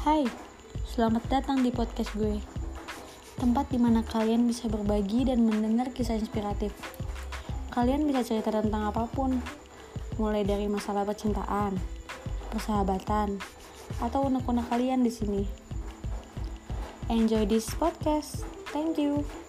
Hai, selamat datang di podcast gue. Tempat dimana kalian bisa berbagi dan mendengar kisah inspiratif. Kalian bisa cerita tentang apapun, mulai dari masalah percintaan, persahabatan, atau unek-unek kalian di sini. Enjoy this podcast. Thank you.